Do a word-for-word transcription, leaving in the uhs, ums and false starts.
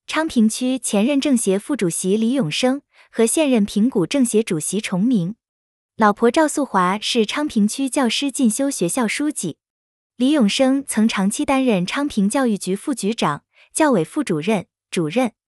昌平区前任政协副主席李永生和现任平谷政协主席重明。老婆赵素华是昌平区教师进修学校书记。李永生曾长期担任昌平教育局副局长、教委副主任、主任，